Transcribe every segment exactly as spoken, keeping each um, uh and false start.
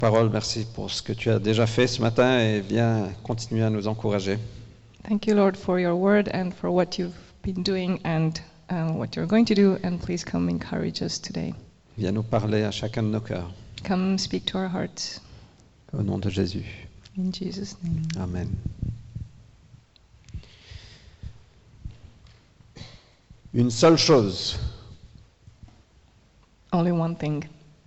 parole, merci pour ce que tu as déjà fait ce matin et viens continuer à nous encourager. Thank you, Lord, for your word and for what you've been doing and uh, what you're going to do. And please come encourage us today. Viens nous parler à chacun de nos cœurs. Come speak to our hearts. Au nom de Jésus. In Jesus' name. Amen. Une seule chose. Only one thing.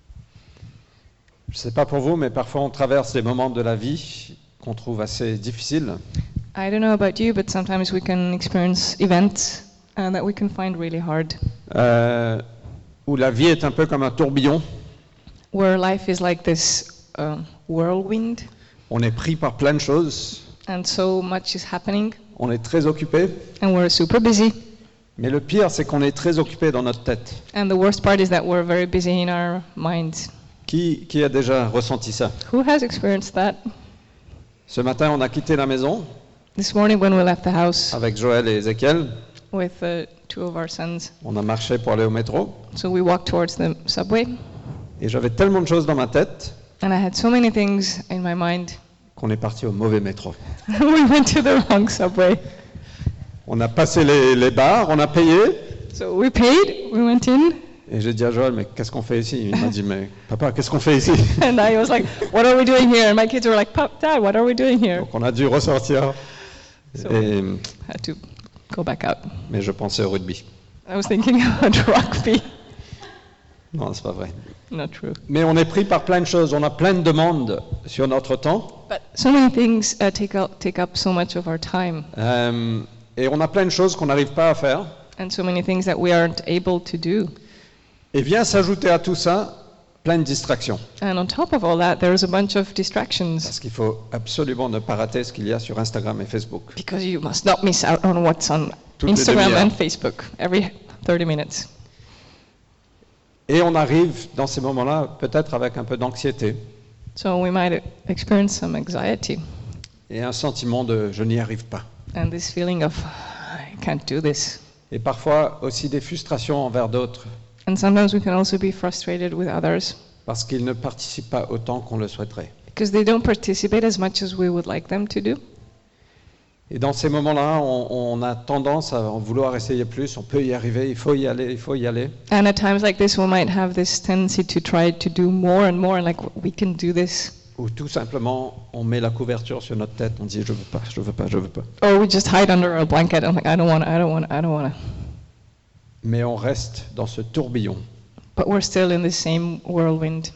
Je ne sais pas pour vous, mais parfois on traverse des moments de la vie qu'on trouve assez difficiles. I don't know about you, but sometimes we can experience events uh, that we can find really hard. Euh, où la vie est un peu comme un tourbillon. Where life is like this uh, whirlwind. On est pris par plein de choses. And so much is happening. On est très occupé. And we're super busy. Mais le pire, c'est qu'on est très occupé dans notre tête. And the worst part is that we're very busy in our minds. Qui, qui a déjà ressenti ça? Who has experienced that? Ce matin, on a quitté la maison This morning when we left the house avec Joël et Ézéchiel. with uh, two of our sons, On a marché pour aller au métro. so we walked towards the subway, Et j'avais tellement de choses dans ma tête and I had so many things in my mind. qu'on est parti au mauvais métro. We went to the wrong subway. On a passé les, les bars, on a payé. So we paid, we went in, Et j'ai dit à Joël, mais qu'est-ce qu'on fait ici? Il m'a dit, mais papa, qu'est-ce qu'on fait ici? and I was like, what are we doing here? And my kids were like, Pop, Dad, what are we doing here? Donc on a dû ressortir. So Et, I had to go back out. mais je pensais au rugby. I was thinking about rugby. Non, c'est pas vrai. Not true. Mais on est pris par plein de choses. On a plein de demandes sur notre temps. But so many things uh, take, out, take up so much of our time, Euh, et on a plein de choses qu'on n'arrive pas à faire. and so many things that we aren't able to do. Et vient s'ajouter à tout ça plein de distractions. And on top of all that, there's a bunch of distractions. Parce qu'il faut absolument ne pas rater ce qu'il y a sur Instagram et Facebook. Because you must not miss out on what's on Toutes les Instagram demi-heures. and Facebook every thirty minutes. Et on arrive dans ces moments-là peut-être avec un peu d'anxiété So we might experience some anxiety et un sentiment de je n'y arrive pas. and this feeling of, I can't do this. Et parfois aussi des frustrations envers d'autres And sometimes we can also be frustrated with others parce qu'ils ne participent pas autant qu'on le souhaiterait. because they don't participate as much as we would like them to do. Et dans ces moments-là, on, on a tendance à vouloir essayer plus, on peut y arriver, il faut y aller, il faut y aller. And at times like this, we might have this tendency to try to do more and more, and like, we can do this. Ou tout simplement, on met la couverture sur notre tête, on dit je veux pas, je veux pas, je veux pas. Or we just hide under a blanket and like, I don't want to, I don't want to, I don't want to. Mais on reste dans ce tourbillon. But we're still in the same whirlwind.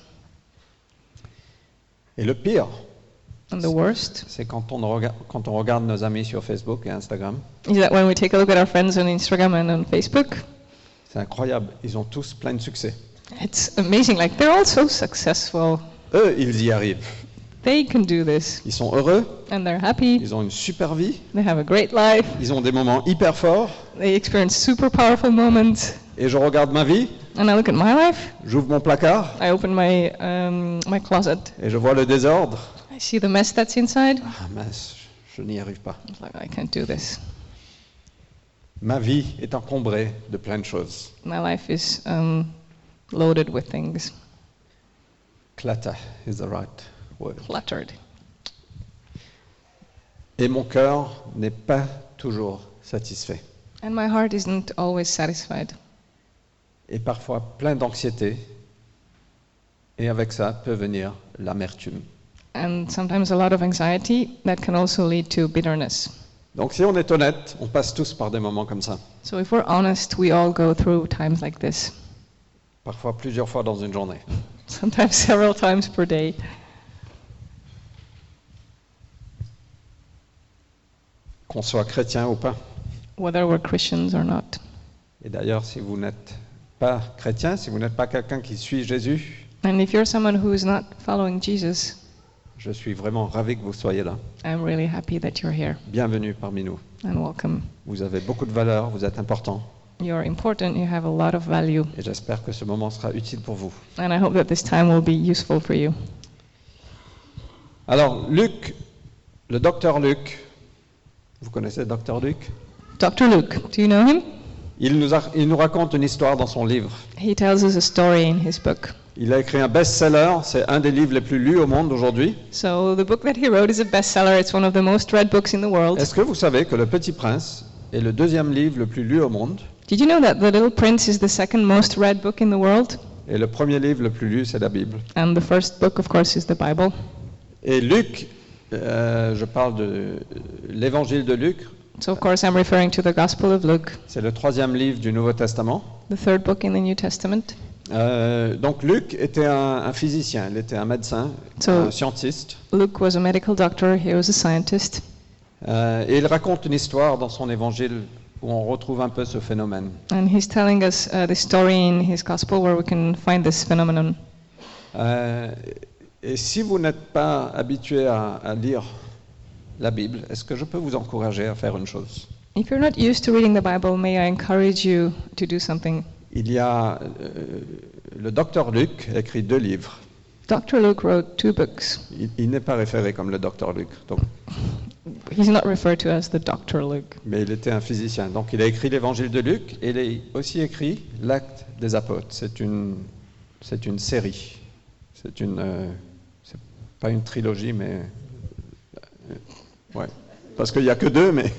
Et le pire, And the worst c'est quand on, regarde, quand on regarde nos amis sur Facebook et Instagram. is that when we take a look at our friends on Instagram and on Facebook, C'est incroyable, ils ont tous plein de succès. it's amazing. Like, they're all so successful. Eux, ils y arrivent. They can do this. Ils sont heureux, And they're happy. ils ont une super vie, They have a great life. ils ont des moments hyper forts. They experience super powerful moments. Et je regarde ma vie, And I look at my life. j'ouvre mon placard I open my, um, my closet. et je vois le désordre. I see the mess that's inside. Ah mince, je n'y arrive pas. I'm like, I can't do this. Ma vie est encombrée de plein de choses. My life is um, loaded with things. Clutter is the right word. Cluttered. Et mon cœur n'est pas toujours satisfait. And my heart isn't always satisfied. Et parfois plein d'anxiété. Et avec ça peut venir l'amertume. And sometimes a lot of anxiety that can also lead to bitterness. Donc si on est honnête, on passe tous par des moments comme ça. So if we're honest, we all go through times like this. Parfois plusieurs fois dans une journée. Sometimes several times per day. Qu'on soit chrétien ou pas. Whether we're Christians or not. Et d'ailleurs, si vous n'êtes pas chrétien, si vous n'êtes pas quelqu'un qui suit Jésus, And if you're someone who is not following Jesus, je suis vraiment ravi que vous soyez là. I'm really happy that you're here Bienvenue parmi nous. and welcome. Vous avez beaucoup de valeur, vous êtes important. You're important, you have a lot of value, Et j'espère que ce moment sera utile pour vous. and I hope that this time will be useful for you. Alors, Luc, le docteur Luc, vous connaissez le docteur Luc? Doctor Luke, do you know him? Il nous, a- il nous raconte une histoire dans son livre. He tells us a story in his book. Il a écrit un best-seller, c'est un des livres les plus lus au monde aujourd'hui. So the book that he wrote is a bestseller. It's one of the most read books in the world. Est-ce que vous savez que Le Petit Prince est le deuxième livre le plus lu au monde? Did you know that The Little Prince is the second most read book in the world? Et le premier livre le plus lu, c'est la Bible. And the first book, of course, is the Bible. Et Luc, euh, je parle de l'évangile de Luc, So of course I'm referring to the Gospel of Luke, c'est le troisième livre du Nouveau Testament. the third book in the New Testament. Euh, donc Luc était un, un physicien, il était un médecin, So- un scientiste. Luke was a medical doctor, he was a scientist. Euh, et il raconte une histoire dans son évangile où on retrouve un peu ce phénomène. And he's telling us uh, this story in his Gospel where we can find this phenomenon. Euh, et si vous n'êtes pas habitué à, à lire la Bible, est-ce que je peux vous encourager à faire une chose? If you're not used to reading the Bible, may I encourage you to do something? Il y a euh, le docteur Luc a écrit deux livres. Doctor Luke wrote two books. Il, il n'est pas référé comme le docteur Luc, donc, He's not referred to as the Doctor Luke, mais il était un physicien. Donc il a écrit l'évangile de Luc et il a aussi écrit l'Acte des Apôtres. C'est une, c'est une série. C'est une, euh, c'est pas une trilogie, mais euh, ouais, parce qu'il n'y a que deux, mais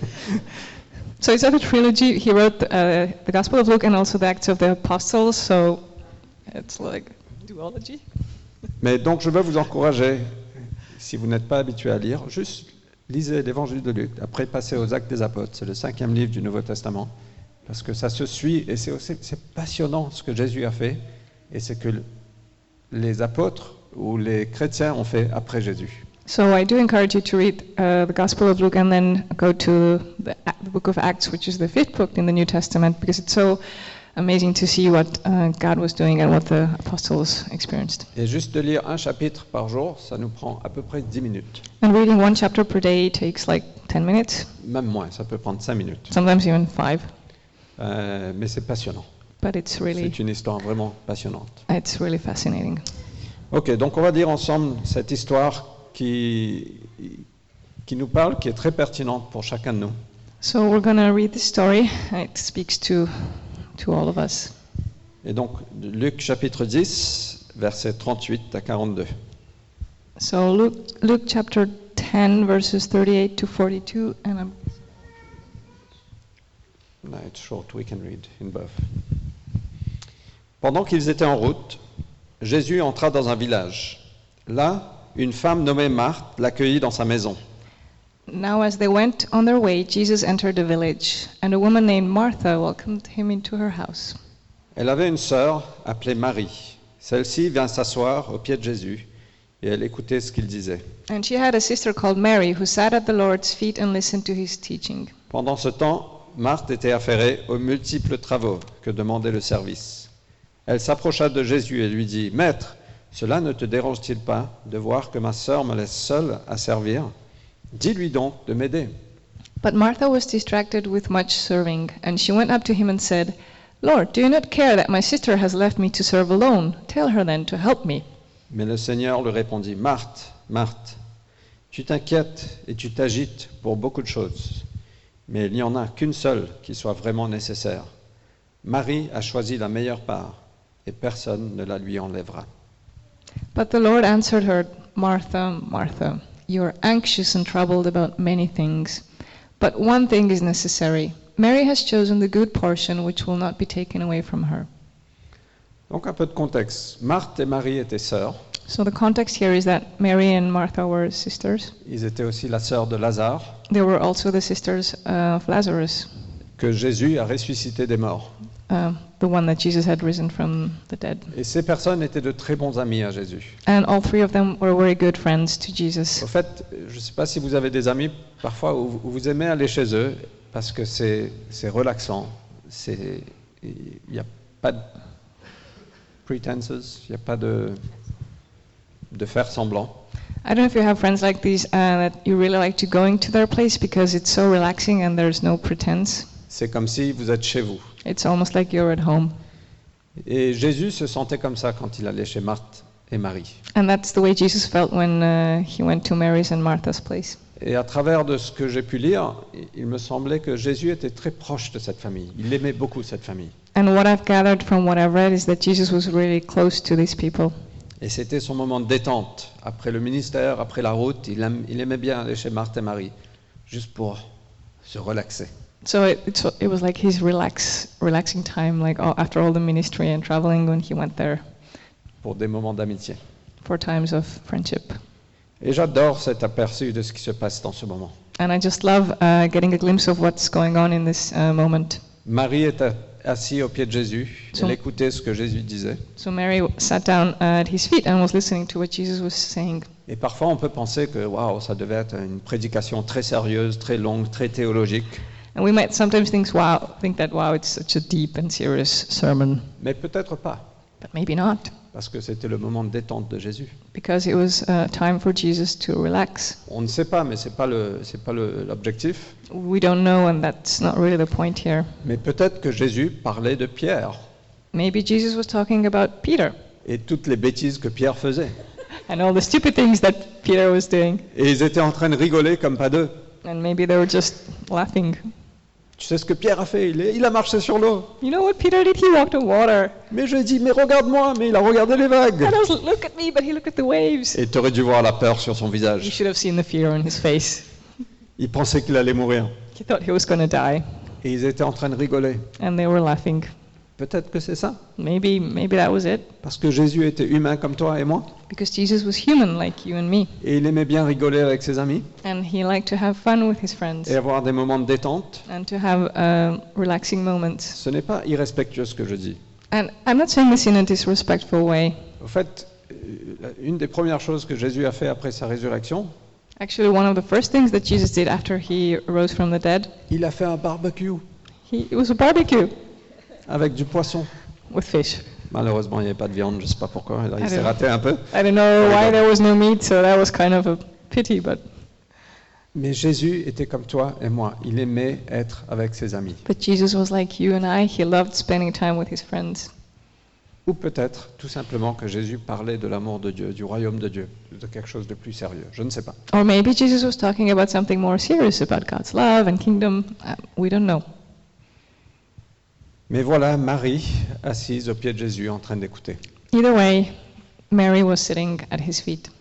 So it's not a trilogy. He wrote uh, the Gospel of Luke and also the Acts of the Apostles, so it's like a duology. Mais donc je veux vous encourager, si vous n'êtes pas habitué à lire, juste lisez l'évangile de Luc, après passez aux Actes des Apôtres, c'est le cinquième livre du Nouveau Testament, parce que ça se suit et c'est aussi c'est passionnant ce que Jésus a fait et c'est que les apôtres ou les chrétiens ont fait après Jésus. So I do encourage you to read uh, the Gospel of Luke and then go to the, the book of Acts, which is the fifth book in the New Testament, because it's so amazing to see what uh, God was doing and what the apostles experienced. Et juste de lire un chapitre par jour, ça nous prend à peu près dix minutes, And reading one chapter per day takes like ten minutes, même moins, ça peut prendre cinq minutes. sometimes even five, Euh, mais c'est passionnant, but it's really, c'est une histoire vraiment passionnante. it's really fascinating. Ok, donc on va dire ensemble cette histoire qui, qui nous parle, qui est très pertinente pour chacun de nous. So we're going to read the story. It speaks to, to all of us. Et donc, Luc chapitre dix, versets trente-huit à quarante-deux. So Luke, Luke chapter ten, verses thirty-eight to forty-two, and I'm No, it's short, we can read in both. Pendant qu'ils étaient en route, Jésus entra dans un village. Là, une femme nommée Marthe l'accueillit dans sa maison. Now, as they went on their way, Jesus entered the village, and a woman named Martha welcomed him into her house. Elle avait une sœur appelée Marie. Celle-ci vint s'asseoir au pied de Jésus et elle écoutait ce qu'il disait. And she had a sister called Mary, who sat at the Lord's feet and listened to his teaching. Pendant ce temps, Marthe était affairée aux multiples travaux que demandait le service. Elle s'approcha de Jésus et lui dit « Maître, cela ne te dérange-t-il pas de voir que ma sœur me laisse seule à servir ? Dis-lui donc de m'aider. » But Martha was distracted with much serving, and she went up to him and said, Lord, do you not care that my sister has left me to serve alone? Tell her then to help me. Mais le Seigneur lui répondit « Marthe, Marthe, tu t'inquiètes et tu t'agites pour beaucoup de choses, mais il n'y en a qu'une seule qui soit vraiment nécessaire. Marie a choisi la meilleure part, et personne ne la lui enlèvera. » But the Lord answered her, Martha, Martha, you are anxious and troubled about many things, but one thing is necessary. Mary has chosen the good portion which will not be taken away from her. Donc un peu de contexte. Marthe et Marie étaient sœurs. So the context here is that Mary and Martha were sisters. Ils étaient aussi la sœur de Lazare, They were also the sisters uh, of Lazarus, que Jésus a ressuscité des morts. uh, the one that Jesus had risen from the dead. Et ces personnes étaient de très bons amis à Jésus. And all three of them were very good friends to Au Jesus. fait, je ne sais pas si vous avez des amis parfois où où vous aimez aller chez eux parce que c'est c'est relaxant. C'est il n'y a pas de pretenses, il n'y a pas de de faire semblant. I don't know if you have friends like these uh, that you really like to going to their place because it's so relaxing and there's no pretense. C'est comme si vous êtes chez vous. It's almost like you're at home. Et Jésus se sentait comme ça quand il allait chez Marthe et Marie. And that's the way Jesus felt when uh, he went to Mary's and Martha's place. Et à travers de ce que j'ai pu lire, il me semblait que Jésus était très proche de cette famille. Il aimait beaucoup cette famille. And what I've gathered from what I've read is that Jesus was really close to these people. Et c'était son moment de détente. Après le ministère, après la route, il, aime, il aimait bien aller chez Marthe et Marie, juste pour se relaxer. So it, it's, it was like his relax, relaxing time, like all, after all the ministry and traveling when he went there Pour des moments d'amitié. for times of friendship. Et j'adore cet aperçu de ce qui se passe dans ce moment. And I just love uh, getting a glimpse of what's going on in this uh, moment. Marie était assise au pied de Jésus. So- Elle écoutait ce que Jésus disait. So Mary sat down at his feet and was listening to what Jesus was saying. Et parfois, on peut penser que waouh, ça devait être une prédication très sérieuse, très longue, très théologique. And we might sometimes think, wow, think that, wow, it's such a deep and serious sermon. Mais peut-être pas, But maybe not, parce que c'était le moment de détente de Jésus. because it was uh, time for Jesus to relax. On ne sait pas, mais c'est pas le, c'est pas le- l'objectif. We don't know, and that's not really the point here. Mais peut-être que Jésus parlait de Pierre Maybe Jesus was talking about Peter et toutes les bêtises que Pierre faisait. and all the stupid things that Peter was doing. Et ils étaient en train de rigoler comme pas deux. And maybe they were just laughing. Tu sais ce que Pierre a fait? Il, est- il a marché sur l'eau. You know what Peter did? He walked on water. Mais je dis, mais regarde-moi, mais il a regardé les vagues. And I was like, look at me, but he looked at the waves. Et tu aurais dû voir la peur sur son You visage. should have seen the fear on his face. Il pensait qu'il allait mourir. He thought he was going to die. Et ils étaient en train de rigoler. And they were laughing. Peut-être que c'est ça. Maybe, maybe that was it. Parce que Jésus était humain comme toi et moi. Because Jesus was human like you and me. Et il aimait bien rigoler avec ses amis And he liked to have fun with his friends et avoir des moments de détente. and to have uh, relaxing moments. Ce n'est pas irrespectueux ce que je dis. And I'm not saying this in a disrespectful way. Au fait, euh, une des premières choses que Jésus a fait après sa résurrection, Actually, one of the first things that Jesus did after he rose from the dead, il a fait un barbecue he, it was a barbecue avec du poisson. with fish. Malheureusement, il n'y avait pas de viande, je ne sais pas pourquoi, il I s'est don't- raté un peu. I don't know why there was no meat, so that was kind of a pity, but, Mais Jésus était comme toi et moi, il aimait être avec ses amis. but Jesus was like you and I. He loved spending time with his friends. Ou peut-être tout simplement que Jésus parlait de l'amour de Dieu, du royaume de Dieu, de quelque chose de plus sérieux. Je ne sais pas. Or maybe Jesus was talking about something more serious, about God's love and kingdom. Uh, we don't know. Mais voilà Marie assise au pied de Jésus en train d'écouter. Either way, Mary was sitting at his feet.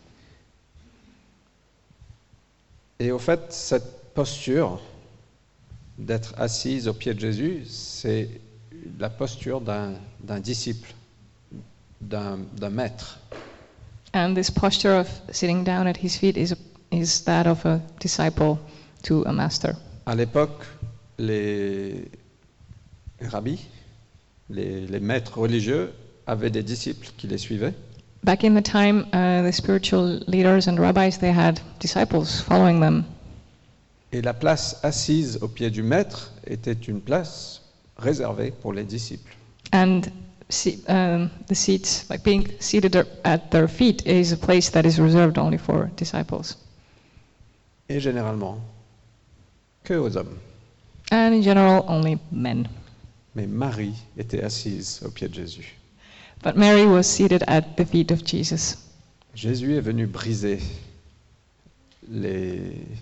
Et au fait, cette posture d'être assise au pied de Jésus, c'est la posture d'un d'un disciple, d'un d'un maître. And this posture of sitting down at his feet is, is that of a disciple to a master. À l'époque, les rabbis, les, les maîtres religieux, avaient des disciples qui les suivaient. Back in the time, uh, the spiritual leaders and rabbis, they had disciples following them. Et la place assise au pied du maître était une place réservée pour les disciples. And see, um, the seats, like being seated at their feet, is a place that is reserved only for disciples. Et généralement, que aux hommes. And in general, only men. Mais Marie était assise au pied de Jésus. But Mary was seated at the feet of Jesus. Jésus est venu briser les,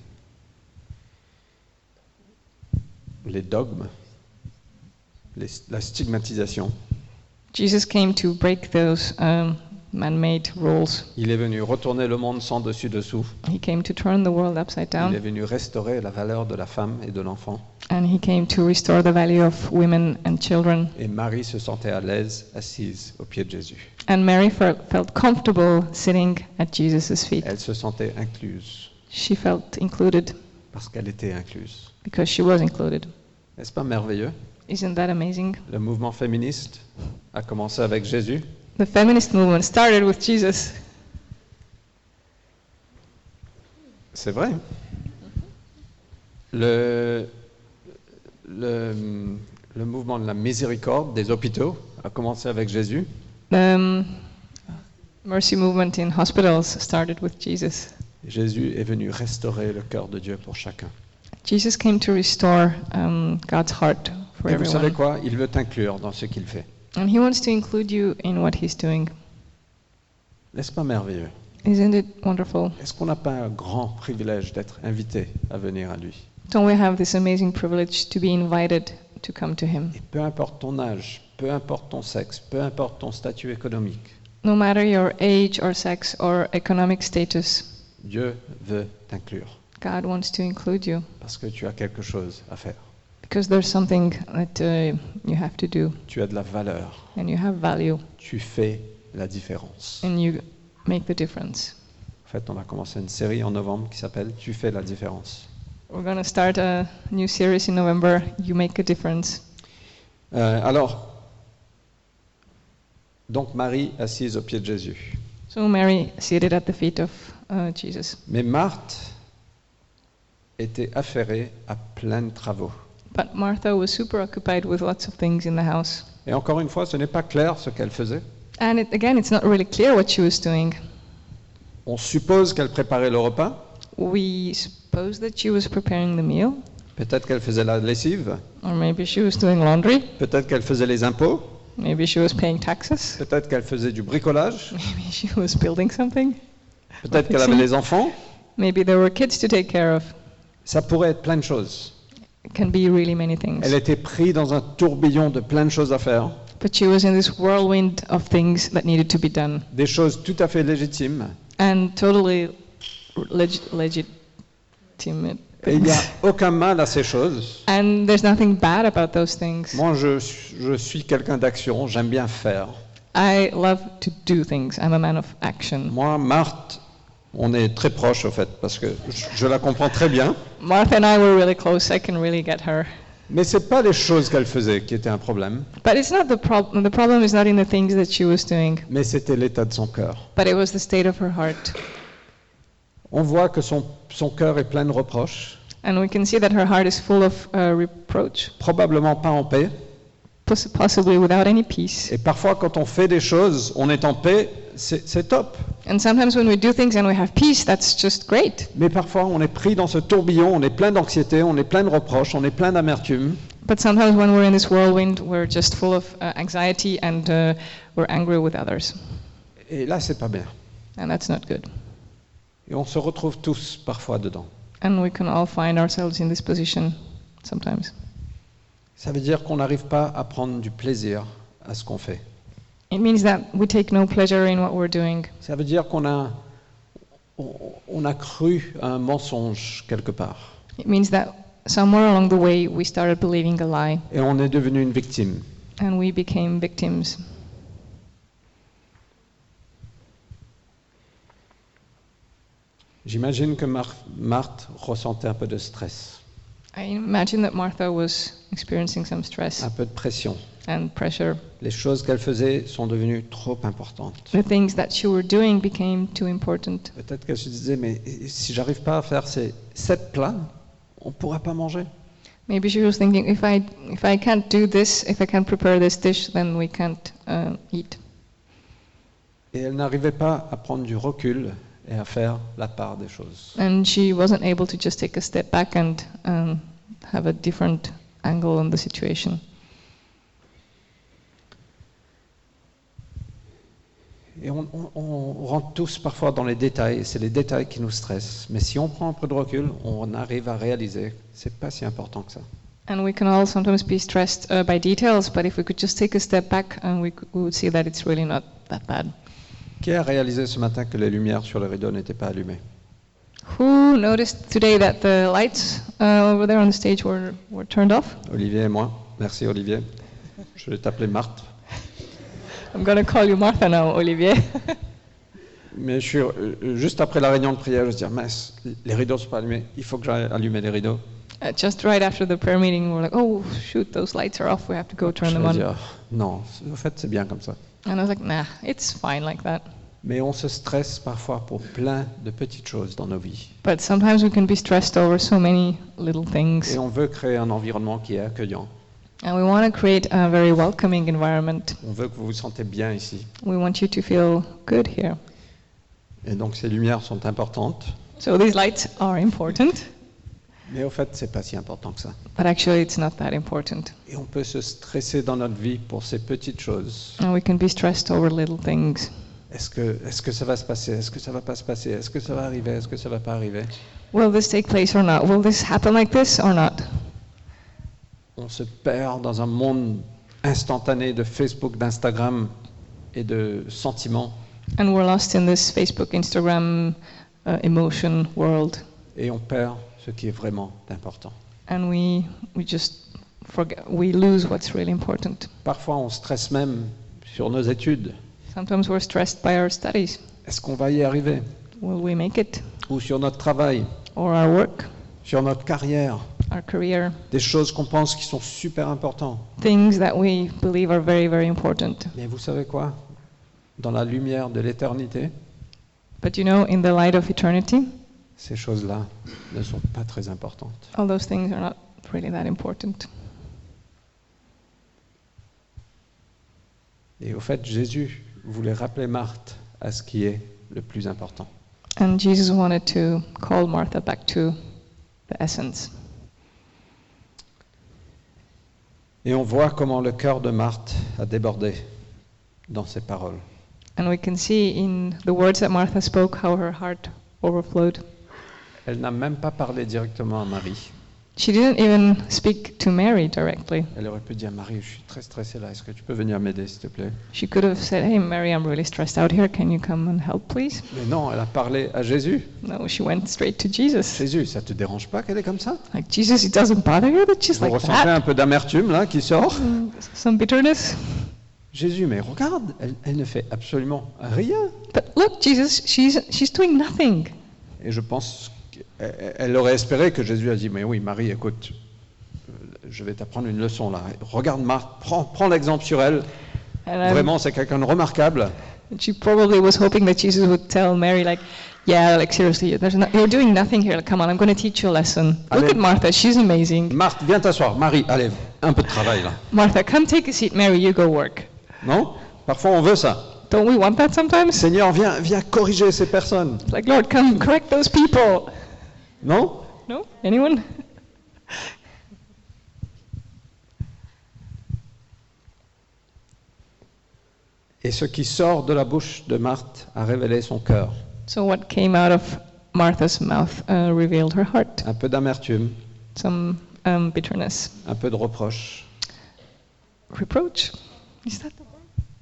les dogmes, les- la stigmatisation. Jesus came to break those um, man-made rules. Il est venu retourner le monde sans dessus-dessous. He came to turn the world upside Il est down, venu restaurer la valeur de la femme et de l'enfant. and he came to restore the value of women and children. Et Marie se sentait à l'aise, assise au pied de Jésus. And Mary felt, felt comfortable sitting at Jesus' feet. Elle se sentait incluse, She felt included parce qu'elle était incluse. because she was included. N'est-ce pas merveilleux? Isn't that amazing? Le mouvement féministe a commencé avec Jésus. The feminist movement started with Jesus. C'est vrai. Le, le, le mouvement de la miséricorde des hôpitaux a commencé avec Jésus. The um, mercy movement in hospitals started with Jesus. Jésus est venu restaurer le cœur de Dieu pour chacun. Jesus came to restore um, God's heart for Et vous savez everyone. quoi? Il veut t'inclure dans ce qu'il fait. And he wants to include you in what he's doing. N'est-ce pas merveilleux? Isn't it wonderful? Est-ce qu'on n'a pas un grand privilège d'être invité à venir à lui? Don't we have this amazing privilege to be invited to come to Him? Et peu importe ton âge, peu importe ton sexe, peu importe ton statut économique, No matter your age or sex or economic status, Dieu veut t'inclure God wants to include you parce que tu as quelque chose à faire. because there's something that uh, you have to do Tu as de la valeur. and you have value Tu fais la différence. and you make the difference. En fait, on va commencer une série en novembre qui s'appelle Tu fais la différence. We're going to start a new series in November, You Make a Difference. Euh, alors, donc Marie assise aux pieds de Jésus. So Mary seated at the feet of uh, Jesus. Mais Marthe était affairée à plein de travaux. But Martha was super occupied with lots of things in the house. Et encore une fois, ce n'est pas clair ce qu'elle faisait. And it, again, it's not really clear what she was doing. On suppose qu'elle préparait le repas. We suppose that she was preparing the meal, Peut-être qu'elle faisait la lessive. or maybe she was doing laundry, Peut-être qu'elle faisait les impôts. maybe she was paying taxes, Peut-être qu'elle faisait du bricolage. maybe she was building something, Peut-être qu'elle avait les enfants. maybe there were kids to take care of. Ça pourrait être plein de choses. It can be really many things. Elle était prise dans un tourbillon de plein de choses à faire. But she was in this whirlwind of things that needed to be done, Des choses tout à fait légitimes. and totally leg- legitimate. Et il n'y a things. aucun mal à ces choses. And there's nothing bad about those things. Moi, je, je suis quelqu'un d'action. J'aime bien faire. I love to do things. I'm a man of action. Moi, Marthe, on est très proches au fait, parce que je, je la comprends très bien. Martha and I were really close. I can really get her. Mais c'est pas les choses qu'elle faisait qui étaient un problème, But it's not the problem. The problem is not in the things that she was doing, mais c'était l'état de son cœur. but it was the state of her heart. On voit que son, son cœur est plein de reproches, And we can see that her heart is full of uh, reproach, probablement pas en paix. poss- possibly without any peace. Et parfois, quand on fait des choses, on est en paix, c'est c'est top. And sometimes when we do things and we have peace, that's just great. Mais parfois, on est pris dans ce tourbillon, on est plein d'anxiété, on est plein de reproches, on est plein d'amertume. But sometimes when we're in this whirlwind, we're just full of uh, anxiety and uh, we're angry with others. Et là, c'est pas bien. And that's not good. Et on se retrouve tous parfois dedans. And we can all find ourselves in this position sometimes. Ça veut dire qu'on n'arrive pas à prendre du plaisir à ce qu'on fait. It means that we take no pleasure in what we're doing. Ça veut dire qu'on a, on, on a cru à un mensonge quelque part. It means that somewhere along the way we started believing a lie Et on est devenu une victime. and we became victims. J'imagine que Mar- Marthe ressentait un peu de stress, I imagine that Martha was experiencing some stress un peu de pression. and pressure. Les choses qu'elle faisait sont devenues trop importantes. The things that she were doing became too important. Peut-être qu'elle se disait, mais si j'arrive pas à faire ces sept plats, on ne pourra pas manger. Maybe she was thinking, if I if I can't do this, if I can't prepare this dish, then we can't uh, eat. Et elle n'arrivait pas à prendre du recul et à faire la part des choses. And she wasn't able to just take a step back and um, have a different angle on the situation. Et on, on- on rentre tous parfois dans les détails, et c'est les détails qui nous stressent. Mais si on prend un peu de recul, on arrive à réaliser que c'est pas si important que ça. And we can all sometimes be stressed uh, by details, but if we could just take a step back, and we, c- we would see that it's really not that bad. Qui a réalisé ce matin que les lumières sur le rideau n'étaient pas allumées? Who noticed today that the lights uh, over there on the stage were, were turned off? Olivier et moi. Merci Olivier. Je vais t'appeler Marthe. I'm going to call you Martha now, Olivier. Mais je suis, euh, juste après la réunion de prière, je me dis, mince, les rideaux ne sont pas allumés, il faut que j'aille allumer les rideaux. Uh, just right after the prayer meeting, we're like, oh, shoot, those lights are off. We have to go turn Je them me on. dis, ah, non, en fait c'est bien comme ça. And I was like, nah, it's fine like that. Mais on se stresse parfois pour plein de petites choses dans nos vies. But sometimes we can be stressed over so many little Et things. on veut créer un environnement qui est accueillant. And we want to create a very welcoming environment. On veut que vous vous sentez bien ici. We want you to feel good here. Et donc ces lumières sont importantes. So these lights are important, Mais au fait, c'est pas si important que ça. but actually it's not that important. Et on peut se stresser dans notre vie pour ces petites choses. And we can be stressed over little things. Est-ce que, est-ce que ça va se passer? Est-ce que ça va pas se passer? Est-ce que ça va arriver? Est-ce que ça va pas arriver? Will this take place or not? Will this happen like this or not? On se perd dans un monde instantané de Facebook, d'Instagram et de sentiments. And we're lost in this Facebook, Instagram, uh, emotion world. Et on perd ce qui est vraiment important. And we, we just forget, we lose what's really important. Parfois, on stresse même sur nos études. Sometimes we're stressed by our studies. Est-ce qu'on va y arriver? Will we make it? Ou sur notre travail, Or our work, sur notre carrière. our career, Des choses qu'on pense qui sont super importantes. things that we believe are very, very important. Mais vous savez quoi? Dans la lumière de l'éternité, But you know, in the light of eternity, ces choses-là ne sont pas très importantes. all those things are not really that important. Et au fait, Jésus voulait rappeler Marthe à ce qui est le plus important. And Jesus wanted to call Martha back to the essence. Et on voit comment le cœur de Marthe a débordé dans ces paroles. And we can see in the words that Martha spoke how her heart overflowed. Elle n'a même pas parlé directement à Marie. She didn't even speak to Mary directly. Elle aurait pu dire, Marie, je suis très stressée là, est-ce que tu peux venir m'aider, s'il te plaît? She could have said, "Hey Mary, I'm really stressed out here. Can you come and help, please?" Mais non, elle a parlé à Jésus. No, she went straight to Jesus. Jésus, ça te dérange pas qu'elle est comme ça? Like, Jesus, it doesn't bother you that she's Vous like ressentez that? un peu d'amertume là qui sort? Mm, Some bitterness? Jésus, mais regarde, elle, elle ne fait absolument rien. But look, Jesus, she's, she's doing nothing. Et je pense qu'elle elle aurait espéré que Jésus a dit, mais oui, Marie, écoute, euh, je vais t'apprendre une leçon là. Regarde Marthe, prends, prends l'exemple sur elle. And I'm- Vraiment, c'est quelqu'un de remarquable. she probably was hoping that Jesus would tell Mary, like, yeah, like seriously, there's no, you're doing nothing here. Like, come on, I'm going to teach you a lesson. Look Allez. at Martha, she's amazing. Marthe, viens t'asseoir. Marie, allez, un peu de travail là. Martha, come take a seat. Mary, you go work. Non? Parfois, on veut ça. Don't we want that sometimes? Seigneur, viens, viens corriger ces personnes. Like, Lord, come correct those people. Non? No? Anyone? Et ce qui sort de la bouche de Marthe a révélé son cœur. So what came out of Martha's mouth uh, revealed her heart. Un peu d'amertume, Some um, bitterness. un peu de reproche. Reproach? Is that the word?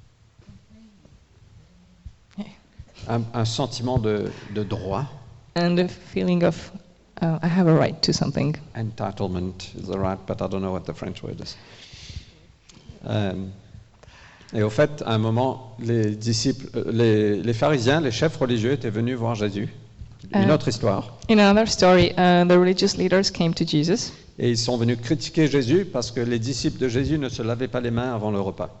Un, un sentiment de, de droit. And a feeling of, uh, I have a right to something. Entitlement is the right, but I don't know what the French word is. Euh, et au fait, à un moment, les disciples, euh, les, les pharisiens, les chefs religieux étaient venus voir Jésus. Une Euh. autre histoire. In another story, uh, the religious leaders came to Jesus. Et ils sont venus critiquer Jésus parce que les disciples de Jésus ne se lavaient pas les mains avant le repas.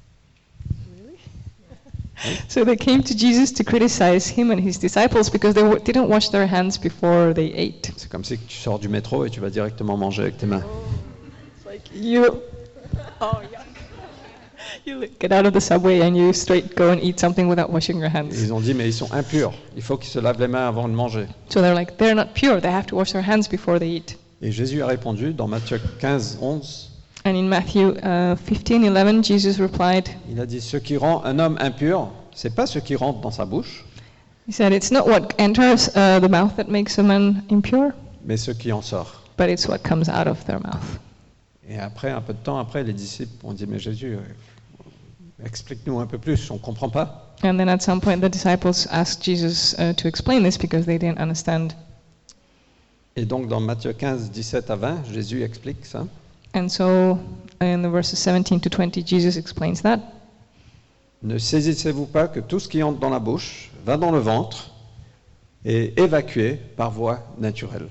So they came to Jesus to criticize him and his disciples because they w- didn't wash their hands before they ate. C'est comme si tu sors du métro et tu vas directement manger avec tes mains. You, oh yeah. You get out of the subway and you straight go and eat something without washing your Et hands. ils ont dit, mais ils sont impurs. Il faut qu'ils se lavent les mains avant de manger. So they're like, they're not pure. They have to wash their hands before they eat. Et Jésus a répondu dans Matthieu quinze, onze, And in Matthew uh, fifteen eleven, Jesus replied, il a dit, ce qui rend un homme impur, c'est pas ce qui rentre dans sa bouche, he said, it's not what enters uh, the mouth that makes a man impure, mais ce qui en sort. but it's what comes out of their mouth. Et après, un peu de temps après, les disciples ont dit, mais Jésus, euh, explique-nous un peu plus, on ne comprend pas. And then at some point, the disciples asked Jesus uh, to explain this because they didn't understand. Et donc dans Matthieu quinze, dix-sept à vingt, Jésus explique ça. And so in the verses seventeen to twenty, Jesus explains that. Ne saisissez-vous pas que tout ce qui entre dans la bouche va dans le ventre et est évacué par voie naturelle.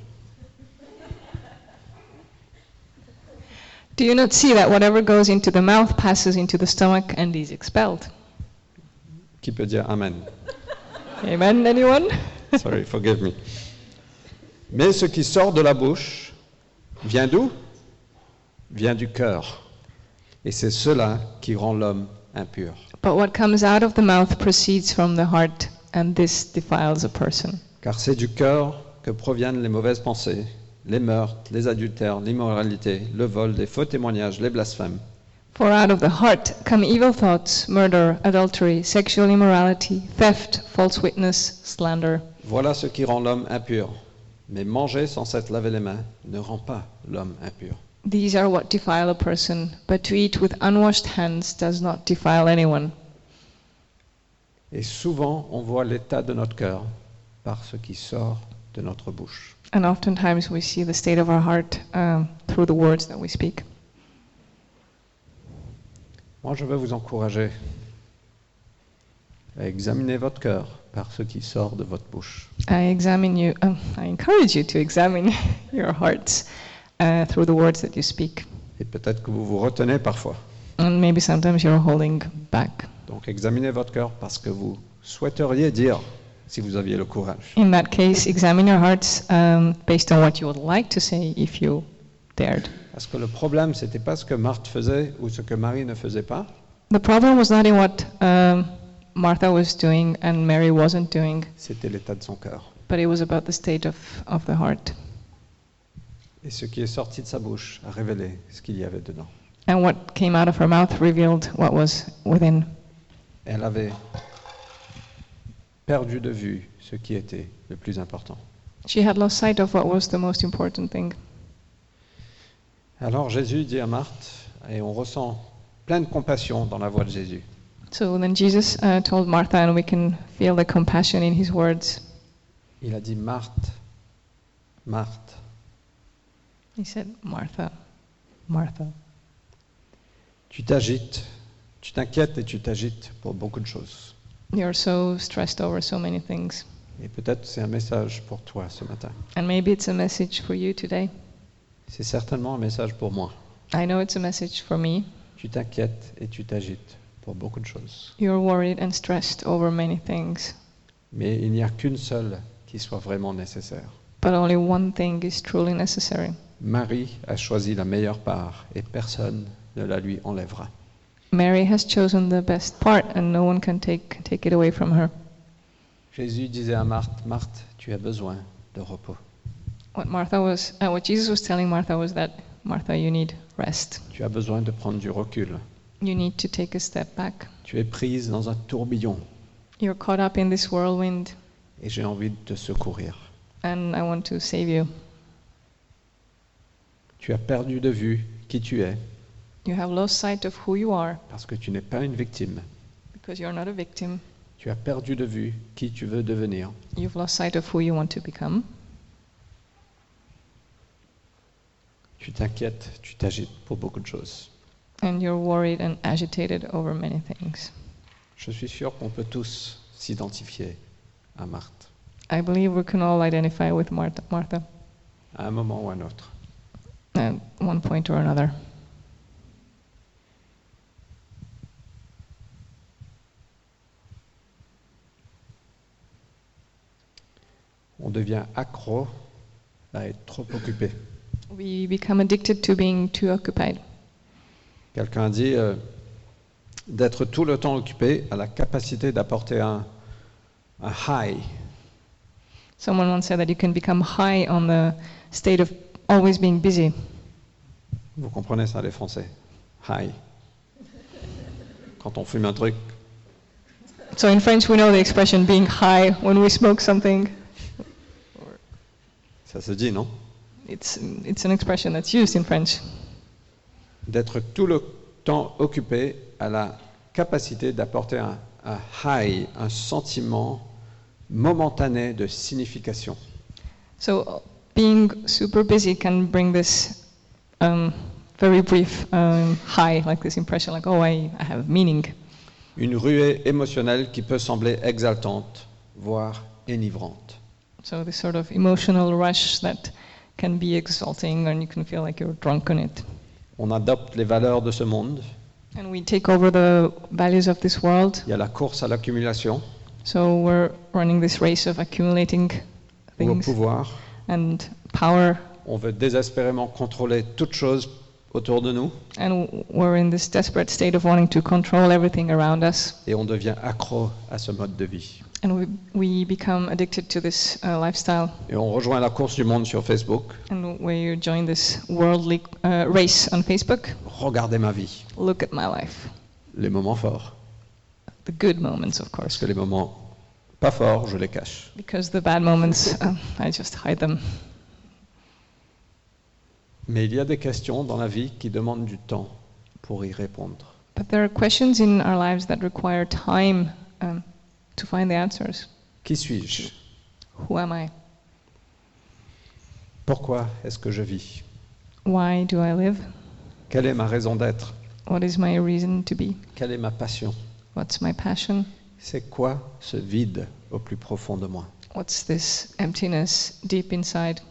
Do you not see that whatever goes into the mouth passes into the stomach and is expelled? Qui peut dire Amen? Amen, anyone? Sorry, forgive me. Mais ce qui sort de la bouche vient d'où? Vient du cœur. Et c'est cela qui rend l'homme impur. But what comes out of the mouth proceeds from the heart, and this defiles a person. Car c'est du cœur que proviennent les mauvaises pensées, les meurtres, les adultères, l'immoralité, le vol, les faux témoignages, les blasphèmes. For out of the heart come evil thoughts, murder, adultery, sexual immorality, theft, false witness, slander. Voilà ce qui rend l'homme impur. Mais manger sans s'être lavé les mains ne rend pas l'homme impur. These are what defile a person, but to eat with unwashed hands does not defile anyone. Et souvent, on voit l'état de notre cœur par ce qui sort de notre bouche. And oftentimes we see the state of our heart um, through the words that we speak. Moi, je veux vous encourager à examiner votre cœur par ce qui sort de votre bouche. I examine you, um, I encourage you to examine your hearts uh, through the words that you speak. Et peut-être que vous vous retenez parfois. And maybe sometimes you're holding back. Donc examinez votre cœur parce que vous souhaiteriez dire si vous aviez le courage. In that case, examine your hearts um, based on what you would like to say if you dared. Parce que le problème, c'était pas ce que Marthe faisait ou ce que Marie ne faisait pas. The problem was not in what um, Martha was doing and Mary wasn't doing, C'était l'état de son cœur. but it was about the state of, of the heart. Et ce qui est sorti de sa bouche a révélé ce qu'il y avait dedans. And what came out of her mouth revealed what was within. Elle avait perdu de vue ce qui était le plus important. She had lost sight of what was the most important thing. Alors Jésus dit à Marthe, et on ressent plein de compassion dans la voix de Jésus. So then Jesus uh, told Martha, and we can feel the compassion in his words. Il a dit, Marthe, Marthe, He said, Martha, Martha, tu t'agites, tu t'inquiètes et tu t'agites pour beaucoup de choses. you're so stressed over so many things. Et peut-être c'est un message pour toi ce matin. And maybe it's a message for you today. C'est certainement un message pour moi. I know it's a message for me. Tu t'inquiètes et tu t'agites pour beaucoup de choses. You're worried and stressed over many things. Mais il n'y a qu'une seule qui soit vraiment nécessaire. But only one thing is truly necessary. Marie a choisi la meilleure part et personne ne la lui enlèvera. Mary has chosen the best part and no one can take, take it away from her. Jésus disait à Marthe, Marthe, tu as besoin de repos. What Martha was, uh, what Jesus was telling Martha was that, Martha, you need rest. Tu as besoin de prendre du recul. You need to take a step back. Tu es prise dans un tourbillon You're caught up in this whirlwind et j'ai envie de te secourir. and I want to save you. Tu as perdu de vue qui tu es You have lost sight of who you are parce que tu n'es pas une victime. because you're not a victim. Tu as perdu de vue qui tu veux devenir. You've lost sight of who you want to become. Tu t'inquiètes, tu t'agites pour beaucoup de choses. And you're worried and agitated over many things. Je suis sûr qu'on peut tous s'identifier à Marthe, I believe we can all identify with Martha, Martha à un moment ou à un autre. at one point or another. On devient accro à être trop occupé. We become addicted to being too occupied. Quelqu'un dit euh, d'être tout le temps occupé a la capacité d'apporter un, un high, Someone once said that you can become high on the state of always being busy. vous comprenez ça les Français, high. Quand on fume un truc, So in French we know the expression being high when we smoke something. ça se dit, non? It's, it's an expression that's used in French. D'être tout le temps occupé a la capacité d'apporter un, un high, un sentiment momentané de signification. So being super busy can bring this um, very brief um, high, like this impression, like, oh, I, I have meaning. Une ruée émotionnelle qui peut sembler exaltante, voire enivrante. So this sort of emotional rush that can be exalting and you can feel like you're drunk on it. On adopte les valeurs de ce monde. And we take over the values of this world. Il y a la course à l'accumulation, So we're running this race of accumulating ou au things pouvoir. and power. On veut désespérément contrôler toute chose autour de nous And we're in this desperate state of wanting to control everything around us. et on devient accro à ce mode de vie. And we, we become addicted to this uh, lifestyle. Et on rejoint la course du monde sur Facebook. And we join this worldly uh, race on Facebook. Regardez ma vie. Look at my life. Les moments forts. The good moments, of Parce course. que les moments pas forts, je les cache. Because the bad moments, uh, I just hide them. Mais il y a des questions dans la vie qui demandent du temps pour y répondre. But there are questions in our lives that require time um, to find the answers. Qui suis-je? Who am I? Pourquoi est-ce que je vis? Why do I live? Quelle est ma raison d'être? What is my reason to be? Quelle est ma passion? What's my passion? C'est quoi ce vide au plus profond de moi? What's this emptiness deep inside?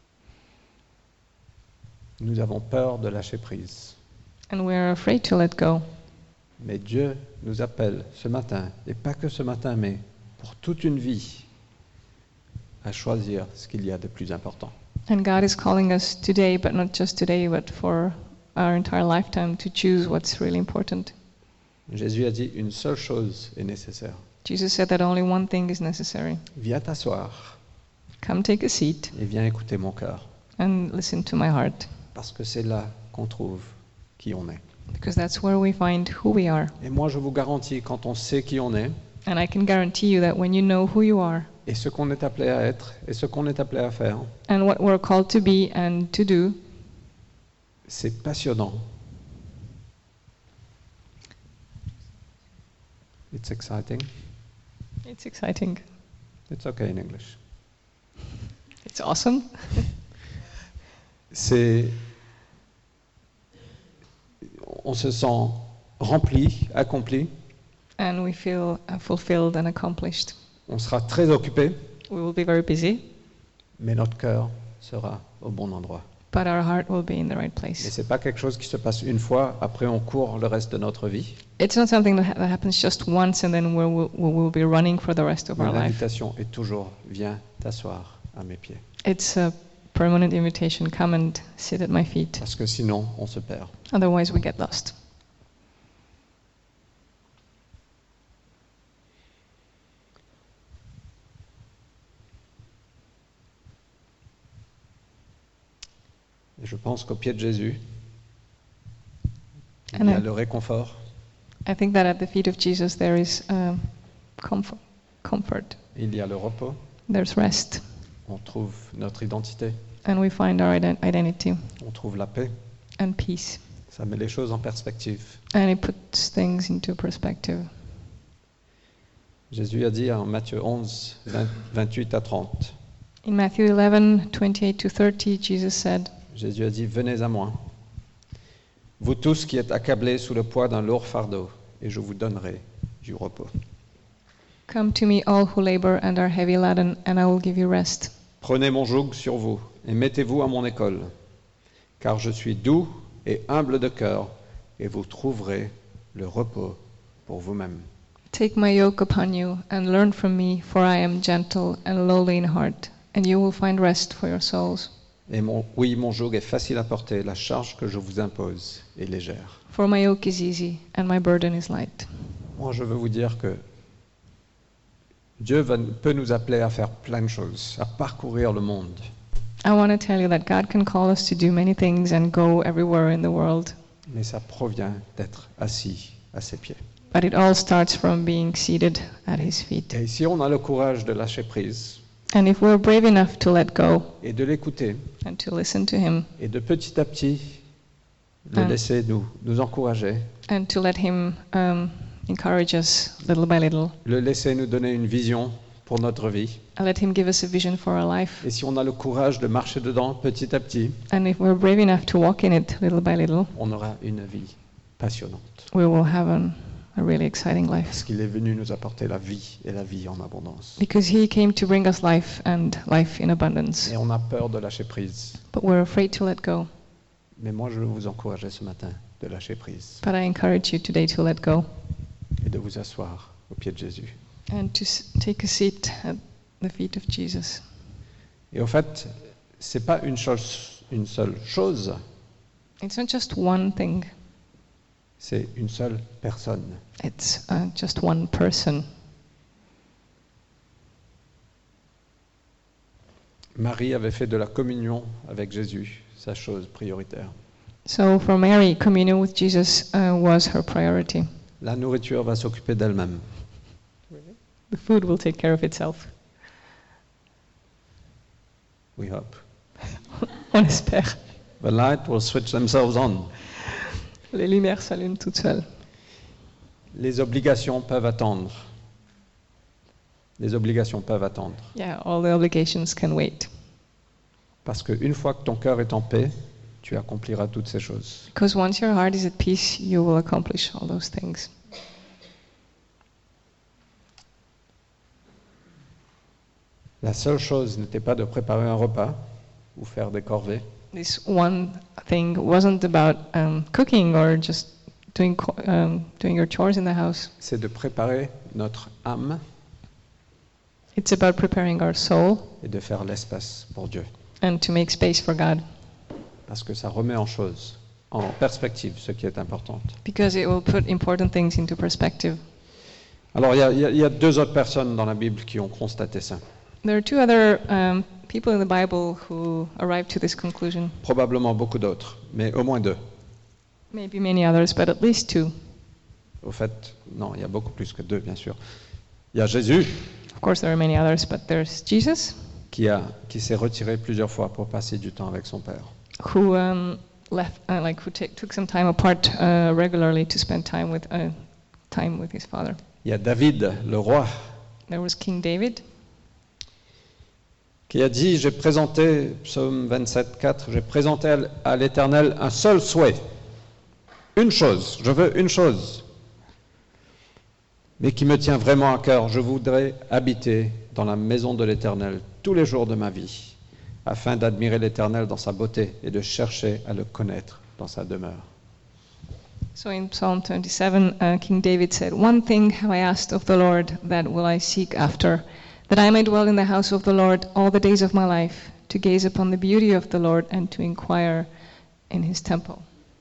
Nous avons peur de lâcher prise. And we're afraid to let go. Mais Dieu nous appelle ce matin, et pas que ce matin, mais pour toute une vie, à choisir ce qu'il y a de plus important. And God is calling us today, but not just today, but for our entire lifetime, to choose what's really important. Jésus a dit une seule chose est nécessaire. Jesus said that only one thing is necessary. Viens t'asseoir Come take a seat et viens écouter mon cœur, and listen to my heart, parce que c'est là qu'on trouve qui on est. because that's where we find who we are. Et moi, je vous garantis, quand on sait qui on est, And I can guarantee you that when you know who you are et ce qu'on est appelé à être, et ce qu'on est appelé à faire, and what we're called to be and to do, c'est passionnant. It's exciting. it's exciting. It's okay in English. It's awesome. C'est, on se sent rempli, accompli. And we feel uh, fulfilled and accomplished. On sera très occupé, We will be very busy, mais notre cœur sera au bon endroit. but our heart will be in the right Et place. c'est pas quelque chose qui se passe une fois, après on court le reste de notre vie. It's not something that, ha- that happens just once and then we'll, we'll, we will be running for the rest of Mais our life. l'invitation est toujours viens t'asseoir à mes pieds, It's a permanent invitation. Come and sit at my feet. parce que sinon on se perd. Otherwise, we get lost. Et je pense qu'au pied de Jésus, il And y a I- le réconfort, I think that at the feet of Jesus there is um, comfort, comfort. il y a le repos, There's rest, on trouve notre identité, and we find our ident- identity on trouve la paix. and peace. Ça met les choses en perspective. And it puts things into perspective. Jésus a dit en Matthieu onze, vingt, vingt-huit à trente, In Matthew eleven, twenty-eight to thirty, Jesus said, Jésus a dit, venez à moi, vous tous qui êtes accablés sous le poids d'un lourd fardeau, et je vous donnerai du repos. "Come to me, all who labor and are heavy laden, and I will give you rest. Prenez mon joug sur vous, et mettez-vous à mon école, car je suis doux et humble de cœur, et vous trouverez le repos pour vous-même. Take my yoke upon you and learn from me, for I am gentle and lowly in heart, and you will find rest for your souls. Et mon, oui, mon joug est facile à porter, la charge que je vous impose est légère. For my yoke is easy and my burden is light." Moi, je veux vous dire que Dieu va- peut nous appeler à faire plein de choses, à parcourir le monde. I want to tell you that God can call us to do many things and go everywhere in the world, Mais ça provient d'être assis à ses pieds. but it all starts from being seated at His feet. Et si on a le courage de lâcher prise And if we're brave enough to let go et de l'écouter, and to listen to Him et de petit à petit le Ah. laisser nous, nous encourager, and to let Him um, encourage us little by little, le laisser nous donner une vision pour notre vie, and let Him give us a vision for our life, et si on a le courage de marcher dedans petit à petit, and if we're brave enough to walk in it little by little, on aura une vie passionnante. we will have an, a really exciting life. Parce qu'il est venu nous apporter la vie et la vie en abondance. Because He came to bring us life and life in abundance. Et on a peur de lâcher prise. But we're afraid to let go. Mais moi, je veux vous encourager ce matin de lâcher prise But I encourage you today to let go et de vous asseoir au pied de Jésus. and to s- take a seat at the feet of Jesus. Et au fait, c'est pas une, chose, une seule chose, It's not just one thing, c'est une seule personne. it's uh, just one person. Marie avait fait de la communion avec Jésus sa chose prioritaire. So for Mary, communion with Jesus uh, was her priority. La nourriture va s'occuper d'elle-même. The food will take care of itself. We hope. On espère. The light will switch themselves on. Les lumières s'allument toutes seules. Les obligations peuvent attendre. Les obligations peuvent attendre. Yeah, all the obligations can wait. Parce qu'une fois que ton cœur est en paix, tu accompliras toutes ces choses. Because once your heart is at peace, you will accomplish all those things. La seule chose n'était pas de préparer un repas ou faire des corvées. This one thing wasn't about um, cooking or just doing co- um, doing your chores in the house. C'est de préparer notre âme It's about preparing our soul et de faire l'espace pour Dieu. and to make space for God, Parce que ça remet en chose, en perspective, ce qui est important. because it will put important things into perspective. Alors, il y a- il y, a- il y a deux autres personnes dans la Bible qui ont constaté ça. There are two other um, people in the Bible who arrived to this conclusion. Probablement beaucoup d'autres, mais au moins deux. Maybe many others, but at least two. Au fait, non, il y a beaucoup plus que deux, bien sûr. Il y a Jésus Of course, there are many others, but there's Jesus, qui, a, qui s'est retiré plusieurs fois pour passer du temps avec son Père. who um, left, uh, like, who ta- took some time apart uh, regularly to spend time with, uh, time with his father. Il y a David, le roi, There was King David, qui a dit, j'ai présenté, psaume vingt-sept, quatre, j'ai présenté à l- à l'Éternel un seul souhait, une chose, je veux une chose, mais qui me tient vraiment à cœur, je voudrais habiter dans la maison de l'Éternel tous les jours de ma vie, afin d'admirer l'Éternel dans sa beauté et de chercher à le connaître dans sa demeure. So in Psalm twenty-seven, uh, King David said, "One thing have I asked of the Lord, that will I seek after, that I may dwell in the house of the Lord all the days of my life, to gaze upon the beauty of the Lord and to inquire in his temple."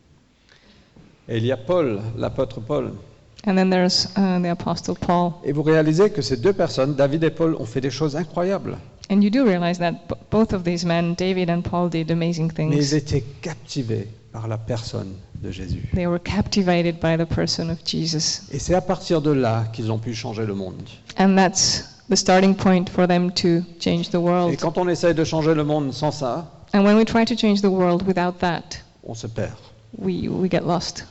Et il y a Paul, l'apôtre Paul. And then there's uh, the Apostle Paul. Et vous réalisez que ces deux personnes, David et Paul, ont fait des choses incroyables. And you do realize that b- both of these men, David and Paul, did amazing Mais ils things. étaient captivés par la personne de Jésus. They were captivated by the person of Jesus. Et c'est à partir de là qu'ils ont pu changer le monde. And that's the starting point for them to change the Et world. quand on essaye de changer le monde sans ça, And when we try to change the world without that, on se perd. we, we get lost.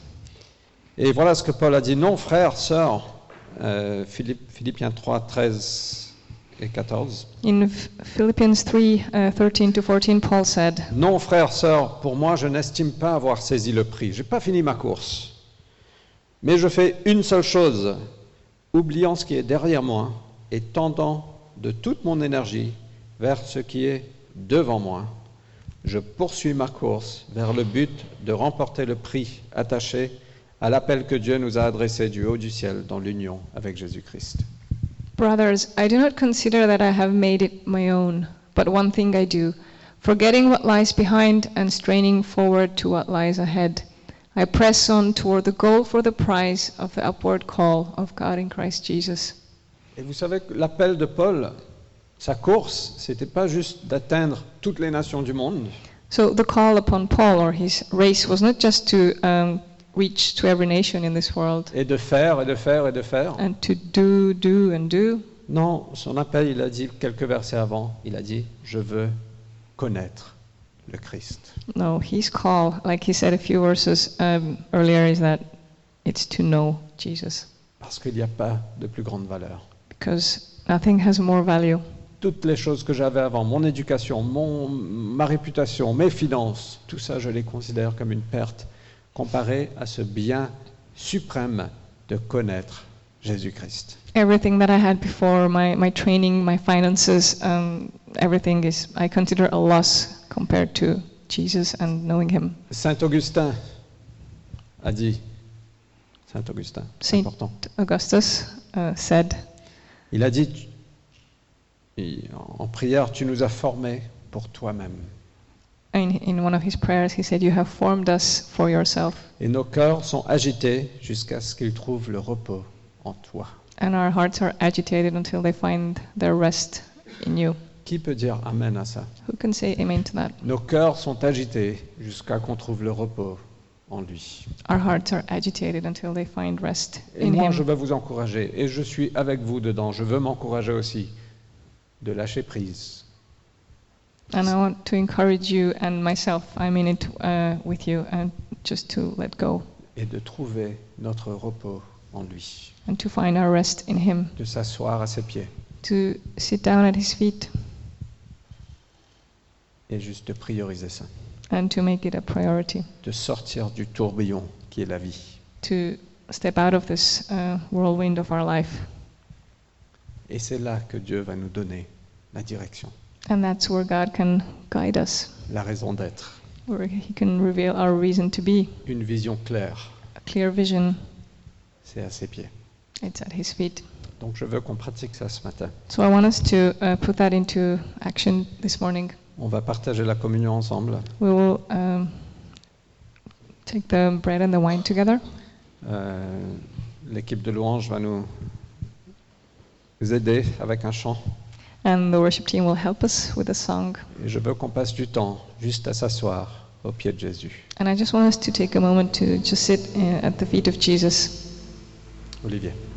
Et voilà ce que Paul a dit. Non, frères, sœurs, euh, Philippe- Philippiens trois, treize et quatorze. In Ph- Philippians three, uh, thirteen to fourteen, Paul said, Non, frères, sœurs, pour moi, je n'estime pas avoir saisi le prix. Je n'ai pas fini ma course. Mais je fais une seule chose, oubliant ce qui est derrière moi et tendant de toute mon énergie vers ce qui est devant moi. Je poursuis ma course vers le but de remporter le prix attaché à l'appel que Dieu nous a adressé du haut du ciel dans l'union avec Jésus-Christ. "Brothers, I do not consider that I have made it my own, but one thing I do, forgetting what lies behind and straining forward to what lies ahead. I press on toward the goal for the prize of the upward call of God in Christ Jesus." Et vous savez que l'appel de Paul, sa course, c'était pas juste d'atteindre toutes les nations du monde, So the call upon Paul, or his race, was not just to um, reach to every nation in this world et de faire et de faire et de faire. and to do, do, and do. Non, son appel, il a dit quelques versets avant, il a dit « Je veux connaître le Christ No, his call, like he said a few verses um, earlier, is that it's to know Jesus, ». Parce qu'il n'y a pas de plus grande valeur. because nothing has more value. Toutes les choses que j'avais avant, mon éducation, mon, ma réputation, mes finances, tout ça, je les considère comme une perte comparé à ce bien suprême de connaître Jésus-Christ. Everything that I had before, my, my training, my finances, um, everything is, I consider a loss compared to Jesus and knowing him. Saint Augustin a dit, Saint Augustin, c'est Saint important, Augustus uh, said, il a dit il- en prière, tu nous as formés pour toi-même. in, in one of his prayers, he said, "You have formed us for yourself, Et nos cœurs sont agités jusqu'à ce qu'ils trouvent le repos en toi. and our hearts are agitated until they find their rest in you." Qui peut dire Amen à ça? Who can say amen to that? Nos cœurs sont agités jusqu'à qu'on trouve le repos en lui. Our hearts are agitated until they find rest Et in moi, him. je veux vous encourager, et je suis avec vous dedans, je veux m'encourager aussi, de lâcher prise. And I want to encourage you and myself, I'm in it uh, with you, and just to let go Et de trouver notre repos en lui, and to find our rest in him, de s'asseoir à ses pieds, to sit down at his feet et juste de prioriser ça, and to make it a priority, de sortir du tourbillon qui est la vie. to step out of this uh, whirlwind of our life. Et c'est là que Dieu va nous donner la direction, And that's where God can guide us, la raison d'être, where he can reveal our reason to be. une vision claire, A clear vision, c'est à ses pieds. it's at his feet. Donc je veux qu'on pratique ça ce matin. So I want us to uh, put that into action this morning. On va partager la communion ensemble. We will um, take the bread and the wine together. Euh, L'équipe de louange va nous, nous aider avec un chant. And the worship team will help us with a song. Et je veux qu'on passe du temps juste à s'asseoir au pied de Jésus. And I just want us to take a moment to just sit uh, at the feet of Jesus. Olivier.